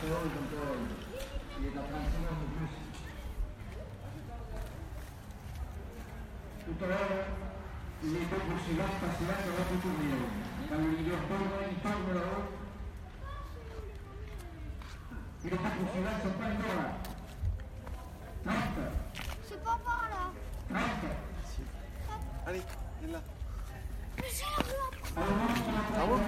Tutto le possibilità passate alla futura. Quando gli oppongono intorno loro, le possibilità sono pas ancora. 30. C'est pas par là. 30. Allez, viens là. Mais c'est là. Ah bon?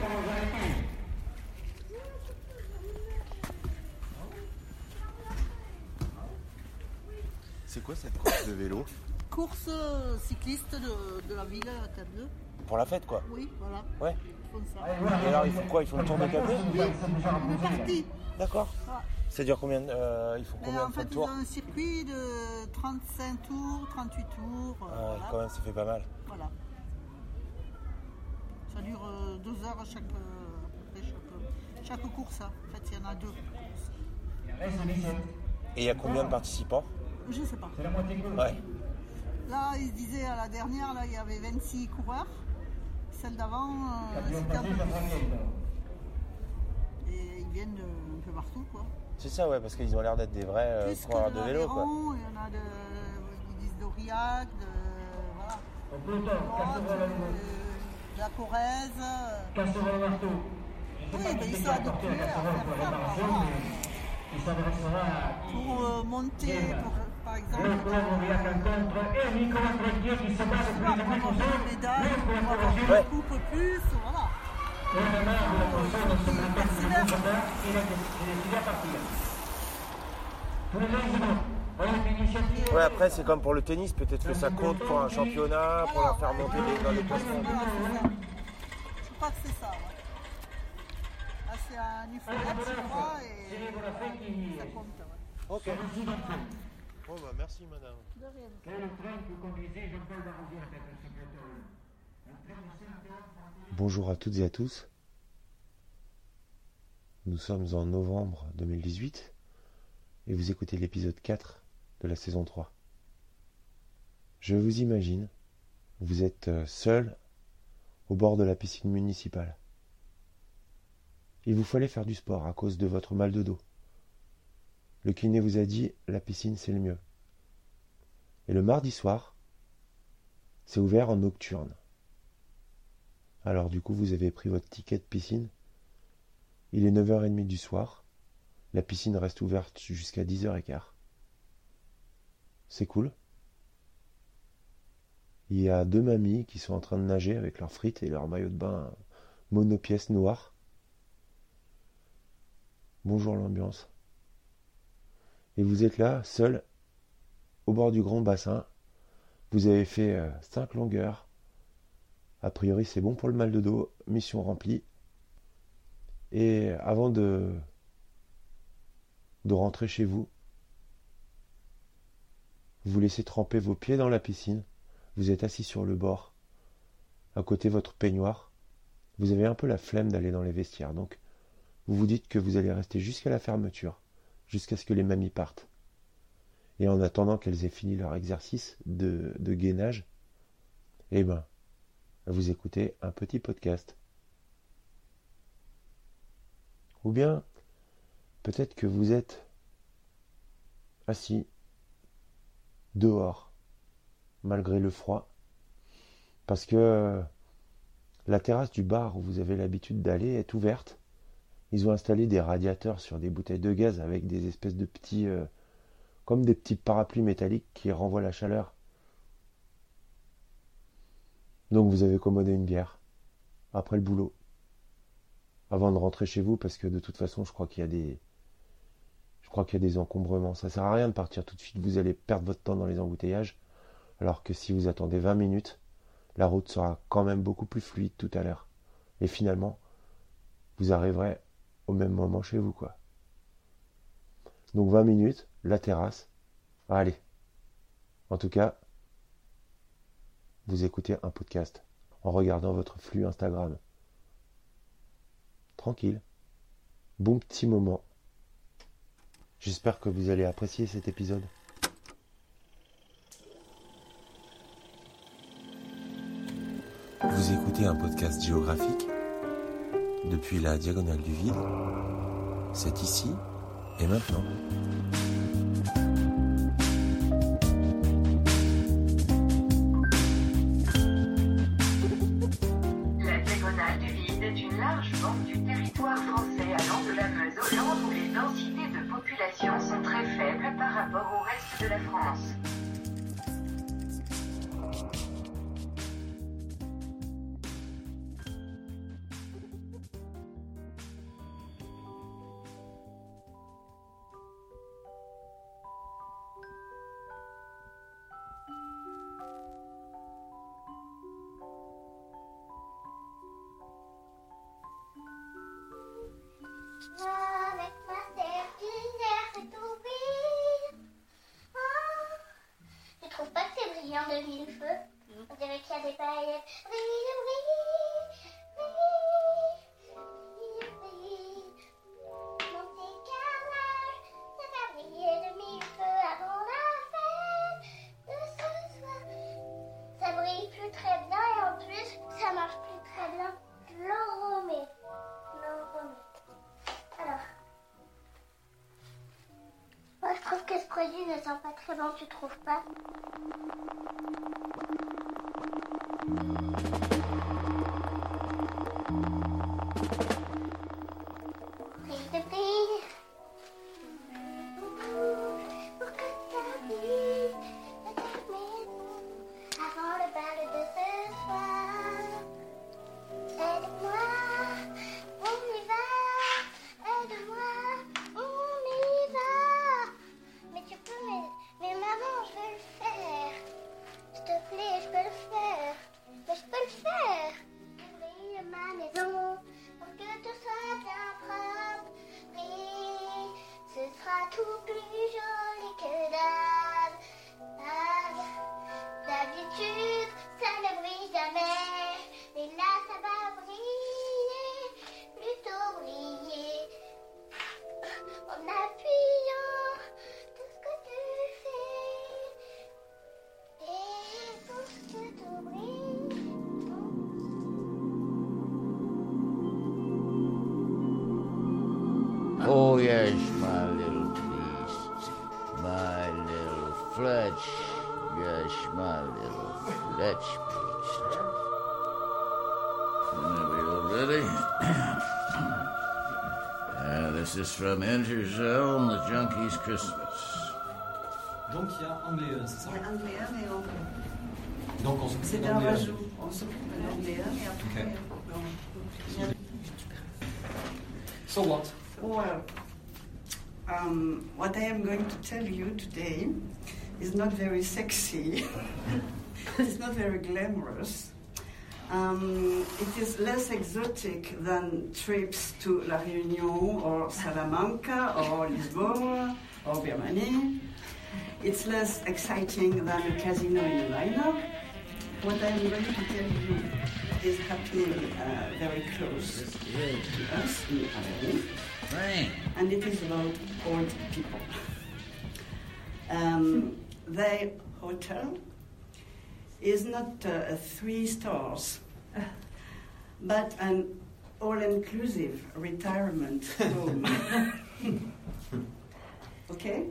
C'est quoi cette course de vélo? Course cycliste de la ville à Cap-2. Pour la fête, quoi? Oui, voilà. Ouais. Ils font ça. Et alors, ils font quoi? Ils font le tour de Cap-2? Une partie. D'accord. Ah. Ça dure combien? Ils font Mais combien en de fois fait, de ils tour? ont un circuit de 35 tours, 38 tours. Ouais, Voilà. quand même, ça fait pas mal. Voilà. Ça dure 2 heures à peu près chaque course. Hein. En fait, il y en a 2 courses. Et il y a combien de participants? Je ne sais pas. Ouais. Là, ils disaient à la dernière, là, il y avait 26 coureurs. Celle d'avant, c'était un peu plus. Et ils viennent un peu partout, quoi. C'est ça, ouais, parce qu'ils ont l'air d'être des vrais Plus que coureurs de vélo, quoi. l'Aveyron, il y en a ils disent d'Aurillac, voilà. De la Corrèze. Oui, mais ils sont habitués à faire ça. Voilà. Pour monter, par exemple, pour avoir une médaille, pour avoir une coupe plus, voilà. Ils persévèrent. Ouais, après, c'est comme pour le tennis, peut-être que ça compte pour un championnat, pour leur faire monter dans les classements. Voilà, c'est ça. Je crois que c'est ça, ouais. Là, c'est un UFONET, je crois, et ça compte, ouais. Ok. Bon, bah, merci, madame. De rien. Bonjour à toutes et à tous. Nous sommes en novembre 2018 et vous écoutez l'épisode 4 de la saison 3. Je vous imagine, vous êtes seul au bord de la piscine municipale. Il vous fallait faire du sport à cause de votre mal de dos. Le kiné vous a dit la piscine c'est le mieux. Et le mardi soir, c'est ouvert en nocturne. Alors du coup vous avez pris votre ticket de piscine. Il est 9h30 du soir. La piscine reste ouverte jusqu'à 10h15. C'est cool. Il y a 2 mamies qui sont en train de nager avec leurs frites et leur maillot de bain monopièce noir. Bonjour l'ambiance. Et vous êtes là, seul, au bord du grand bassin. Vous avez fait 5 longueurs. A priori, c'est bon pour le mal de dos. Mission remplie. Et avant de rentrer chez vous, vous laissez tremper vos pieds dans la piscine. Vous êtes assis sur le bord, à côté de votre peignoir. Vous avez un peu la flemme d'aller dans les vestiaires, donc vous vous dites que vous allez rester jusqu'à la fermeture, jusqu'à ce que les mamies partent. Et en attendant qu'elles aient fini leur exercice de gainage, eh ben, vous écoutez un petit podcast. Ou bien, peut-être que vous êtes assis dehors, malgré le froid, parce que la terrasse du bar où vous avez l'habitude d'aller est ouverte. Ils ont installé des radiateurs sur des bouteilles de gaz avec des espèces de petits, comme des petits parapluies métalliques qui renvoient la chaleur. Donc vous avez commandé une bière après le boulot, avant de rentrer chez vous, parce que de toute façon, je crois qu'il y a des encombrements. Ça sert à rien de partir tout de suite. Vous allez perdre votre temps dans les embouteillages, alors que si vous attendez 20 minutes, la route sera quand même beaucoup plus fluide tout à l'heure. Et finalement, vous arriverez au même moment chez vous, quoi. Donc 20 minutes, la terrasse. Allez. En tout cas, vous écoutez un podcast en regardant votre flux Instagram. Tranquille. Bon petit moment. J'espère que vous allez apprécier cet épisode. Vous écoutez un podcast géographique depuis la diagonale du vide C'est ici et maintenant. La diagonale du Vide est une large bande du territoire français allant de la Meuse au Land où les densités de population sont très faibles par rapport au reste de la France. Avec ma serpillière, c'est ouvrir. Oh, tu trouves pas que c'est brillant de mille feux? On dirait qu'il y a des paillettes. Brille, brille, brille, brille. Mon petit carrelage, ça va briller de mille feux avant la fête de ce soir. Ça brille plus très bien et en plus, ça marche plus très bien. Je le remets. Alors, moi je trouve que ce produit ne sent pas très bon, tu trouves pas? Brille de brille, pour que ça brille de ta maison avant le bal de ce soir. Aide-moi, on y va. Aide-moi, on y va. Mais tu peux, mais maman, je veux le faire. S'il te plaît, je peux le faire. Mais je peux le faire. Brille ma maison pour que tout soit bien propre. Brille, ce sera tout plus joli que d'habitude, ça ne brille jamais. Mais là, ça va briller, plutôt briller. En appuyant tout ce que tu fais. Et pour que tout brille. Oh yes, my little piece, my little Fletch, yes, my little Fletch piece. Are we all ready? This is from Enter Zone, the Junkie's Christmas. Donc il y a angléen, c'est ça? Il y a angléen et anglais. Donc on se C'est coupe un d'angléen. rajout. On se coupe de l'angléen et après. Ok. So what? Well, what I am going to tell you today is not very sexy. It's not very glamorous. It is less exotic than trips to La Réunion or Salamanca or Lisbon or Birmanie. It's less exciting than a casino in a lineup. What I am going to tell you is happening very close to us in Aveyron. And it is about old people. Their hotel is not 3 stars, but an all-inclusive retirement home. Okay?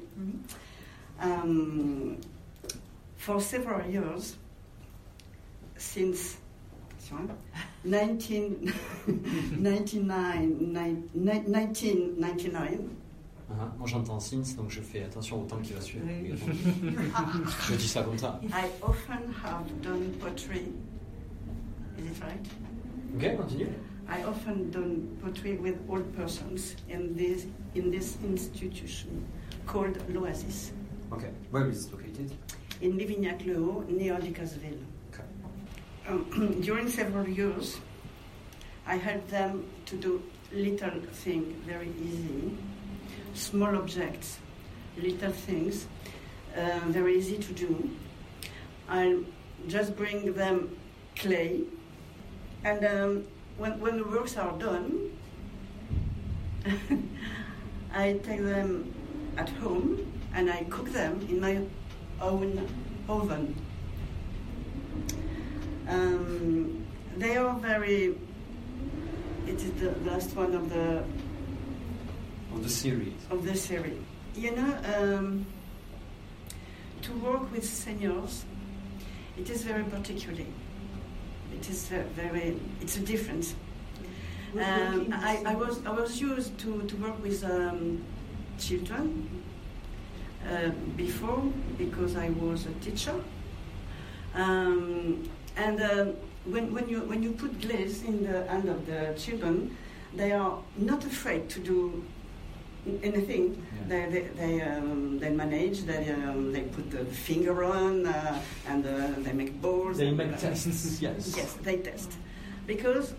For several years, since 1999. Moi j'entends since, donc je fais attention au temps qui va suivre. Je dis ça comme ça. I often have done pottery. Is it right? Ok, continue. I often done pottery with old persons in this institution called l'Oasis. Okay, where is it located? In Livignac-le-Haut, near Decazeville. Okay. During several years, I helped them to do little things, very easy, small objects, little things, very easy to do. I'll just bring them clay, and when the works are done, I take them at home and I cook them in my own oven. They are very, it is the last one of the Of the series. Of the series. You know, to work with seniors, it is very particular. It is it's a difference. I was used to work with children before because I was a teacher. When you put glaze in the hand of the children, they are not afraid to do anything. Yeah. They manage. They put the finger on and they make balls. They make tests. Yes. Yes, they test because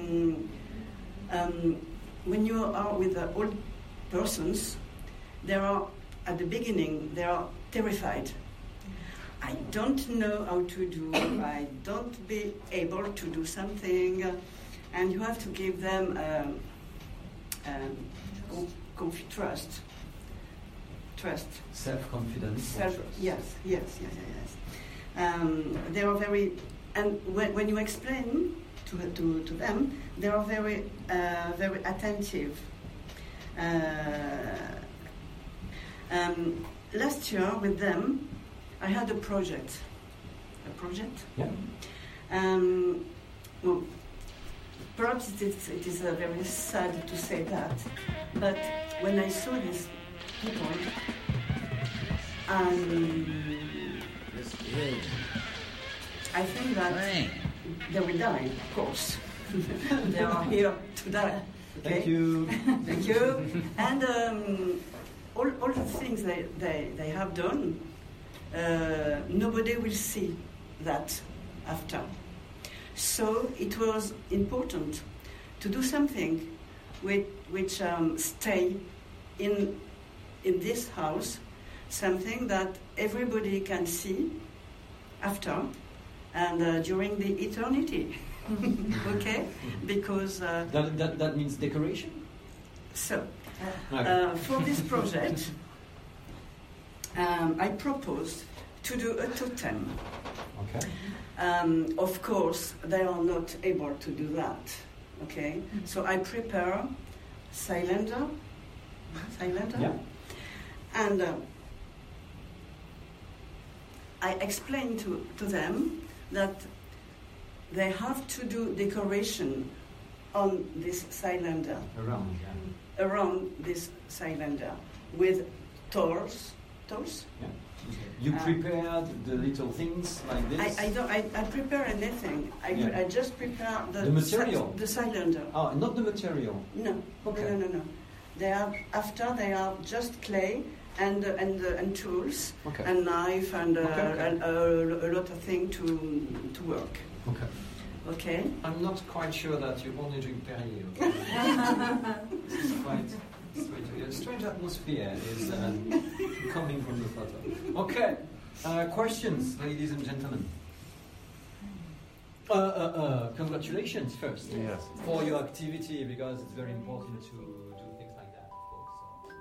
when you are with the old persons, they are at the beginning they are terrified. I don't know how to do. I don't be able to do something, and you have to give them trust. Self-confidence. Yes. They are very, and when you explain to them, they are very attentive. Last year with them, I had a project. Yeah. Well, perhaps it is very sad to say that, but when I saw these people, I think that they will die, of course. They are here to die. Okay? Thank you. Thank you. And all the things they have done, nobody will see that after. So it was important to do something which stay in this house, something that everybody can see after and during the eternity. Okay? Because that means decoration. So for this project, I proposed to do a totem. Okay. Of course, they are not able to do that. Okay, so I prepare cylinder, yeah. And I explain to them that they have to do decoration on this cylinder. Around this cylinder with tools. Yeah. You prepared the little things like this? I prepare anything. I just prepare the material? The cylinder. Oh, not the material? No. Okay. No. They are just clay and tools, okay. And knife and a lot of things to work. Okay. Okay. I'm not quite sure that you only drink Perrier. Okay? This is quite strange. A strange atmosphere is coming from the photo. Okay. Questions, ladies and gentlemen? Congratulations first. Yes. For your activity, because it's very important to do things like that, of course. So.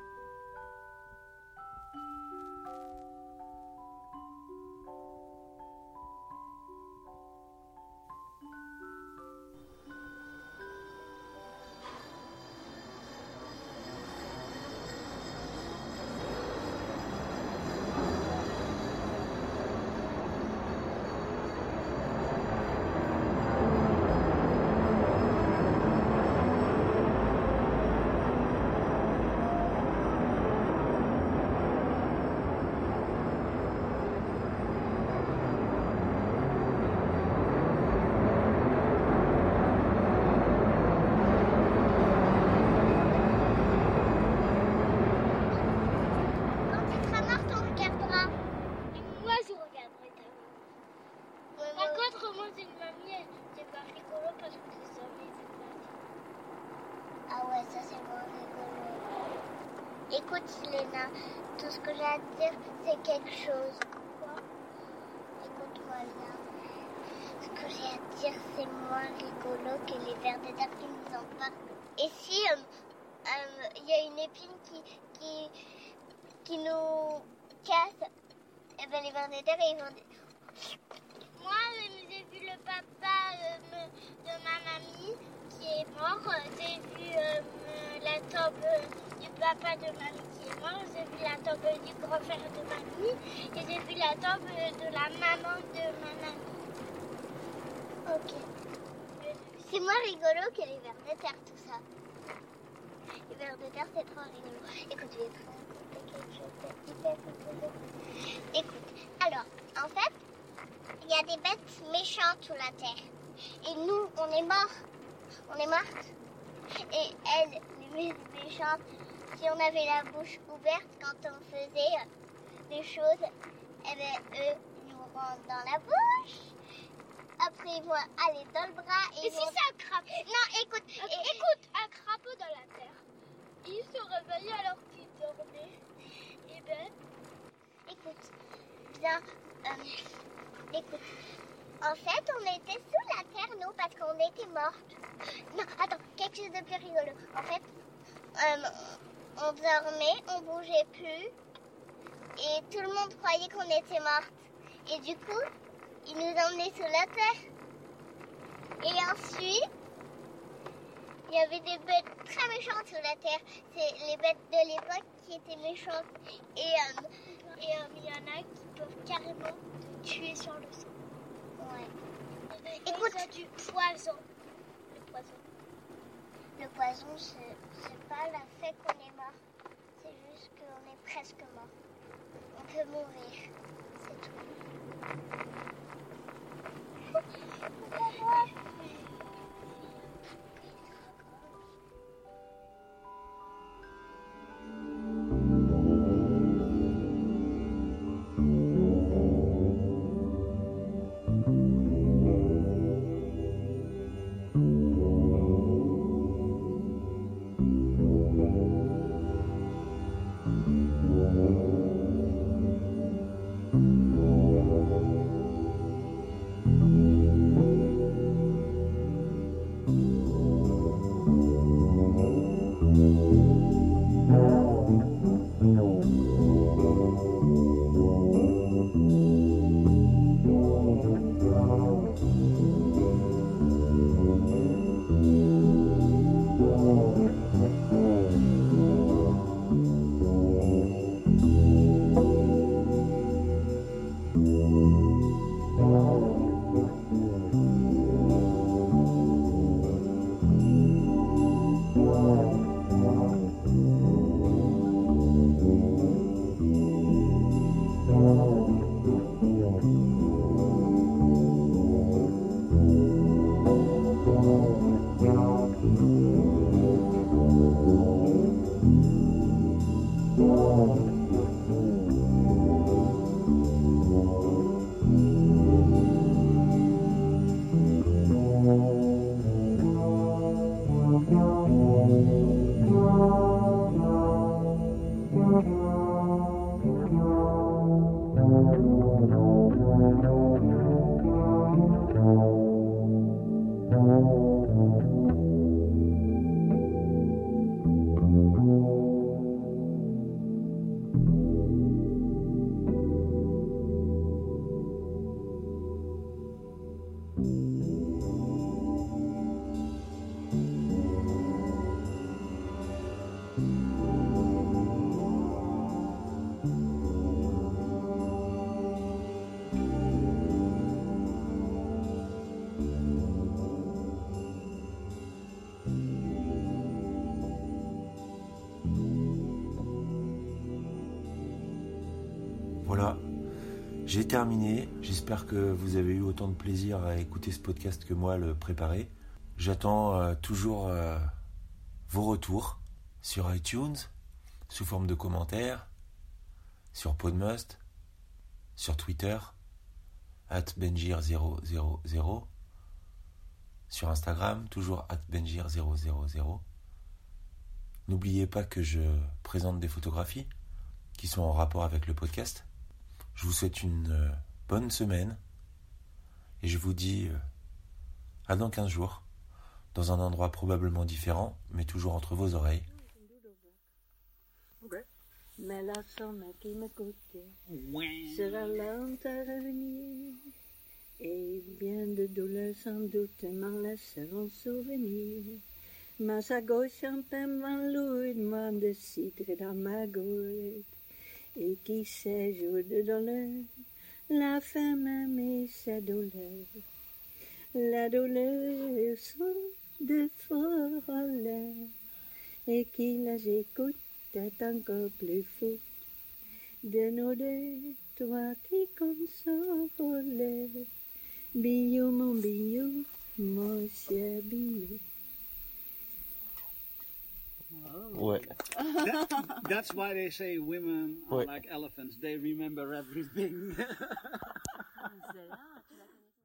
Écoute, Léna, tout ce que j'ai à te dire, c'est quelque chose. Quoi? Écoute-moi bien. Ce que j'ai à te dire, c'est moins rigolo que les vers de terre qui nous en parlent. Et si il y a une épine qui nous casse, et ben les vers de terre, ils vont dire... Moi, j'ai vu le papa de ma mamie qui est mort. J'ai vu la tombe du papa de mamie qui est mort, j'ai vu la tombe du grand-frère de mamie et j'ai vu la tombe de la maman de ma mamie. Ok. C'est moins rigolo que les vers de terre, tout ça. Les vers de terre, c'est trop rigolo. Écoute, je vais te raconter quelque chose de hyper rigolo. Écoute, alors, en fait, il y a des bêtes méchantes sous la terre. Et nous, on est morts. On est mortes. Et elles, les méchantes, si on avait la bouche ouverte quand on faisait des choses, eh bien, eux nous rentrent dans la bouche. Après, ils vont aller dans le bras. Et si c'est un crapaud? Non, écoute. Écoute, un crapaud dans la terre. Il se réveille alors qu'il dormait. Eh bien, écoute, bien, écoute. En fait, on était sous la terre, nous, parce qu'on était mortes. Non, attends, quelque chose de plus rigolo. En fait, on dormait, on bougeait plus, et tout le monde croyait qu'on était mortes. Et du coup, ils nous emmenaient sous la terre. Et ensuite, il y avait des bêtes très méchantes sous la terre. C'est les bêtes de l'époque qui étaient méchantes. Et il y en a qui peuvent carrément te tuer sur le sang. Ouais. Écoute, c'est du poison. Le poison, c'est pas le fait qu'on est mort. C'est juste qu'on est presque mort. On peut mourir. C'est tout. Voilà, j'ai terminé. J'espère que vous avez eu autant de plaisir à écouter ce podcast que moi à le préparer. J'attends toujours vos retours sur iTunes, sous forme de commentaires, sur Podmust, sur Twitter, @benjir000, sur Instagram, toujours @benjir000. N'oubliez pas que je présente des photographies qui sont en rapport avec le podcast. Je vous souhaite une bonne semaine et je vous dis à dans 15 jours, dans un endroit probablement différent, mais toujours entre vos oreilles. Mais la somme qui m'écoute sera lente à revenir, et bien de douleurs sans doute m'en laisseront souvenir. Maar sa gauche champagne van lourdement de cidre dans ma gorge. Et qui sait jour de douleur, la femme aimait sa douleur. La douleur son de folle, et qui les écoute est encore plus fou. De nos deux, toi qui consoles, Billou, mon cher Billou. Ouais. That's why they say women are like elephants. They remember everything.